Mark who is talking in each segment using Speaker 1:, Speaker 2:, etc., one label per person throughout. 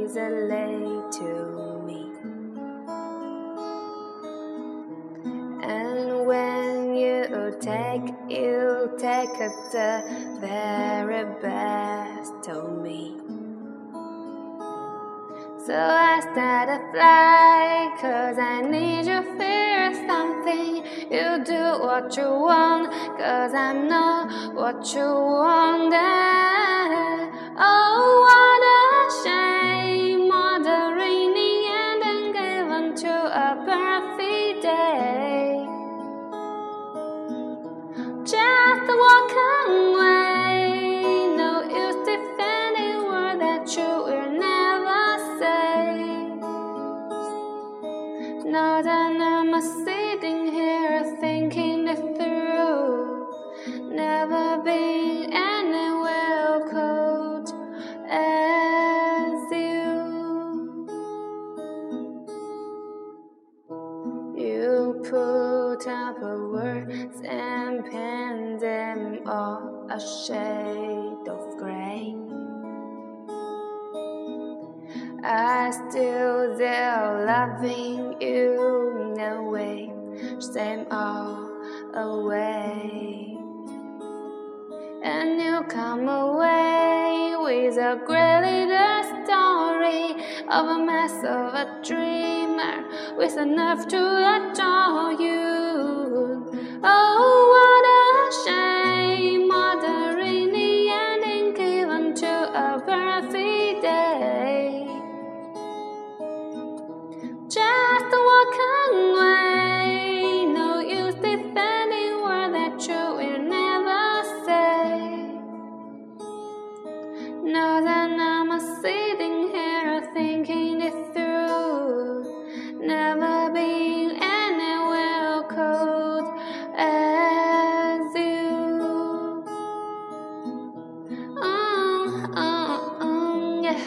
Speaker 1: easily to me. And when you take the very best of me. So I started flying, 'cause I need you feel something. You do what you want, 'cause I'm not what you wanted. Oh, what a shame, all the raining and then given to a perfect day. Just walk away, no use defending word that you will never say. Now that I'm sitting here thinking it through, never been anywhere cold as you. You put up words and paint them all a shade of gray. I still there loving you in a way, same all away. And you come away with a great little story of a mess of a dreamer with a nerve to adore you. Oh, what a shame, all the rainy ending given to a perfect day. Just walk away, no use defending word that you will never say. Now that I'm sitting here thinking it through, never been anywhere cold as you. Yeah.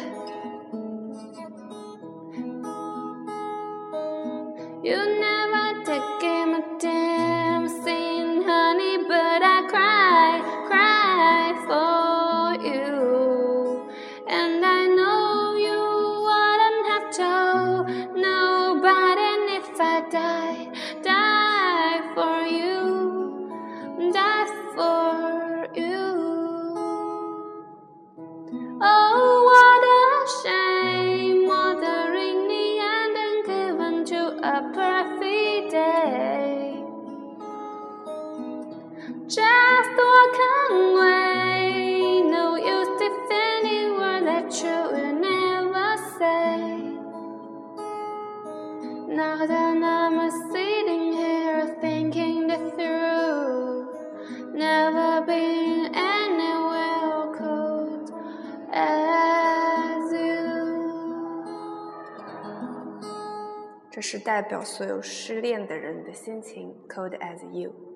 Speaker 1: You never take my dancing, honey, but I cry for you. And I know you wouldn't have told nobody. And if I die for you, die for you. Oh, what a shame, all the rainy and then given to a perfect day. Just walk away, no use defending word that you will never say. Now that I'm sitting here thinking it through, never been anywhere cold as you. 这是代表所有失恋的人的心情 ，Cold as you。